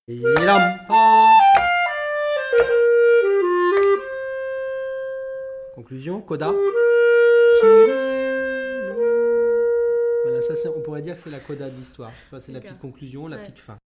Conclusion, coda. Voilà, ça on pourrait dire que c'est la coda d'histoire. C'est la petite conclusion, la petite fin.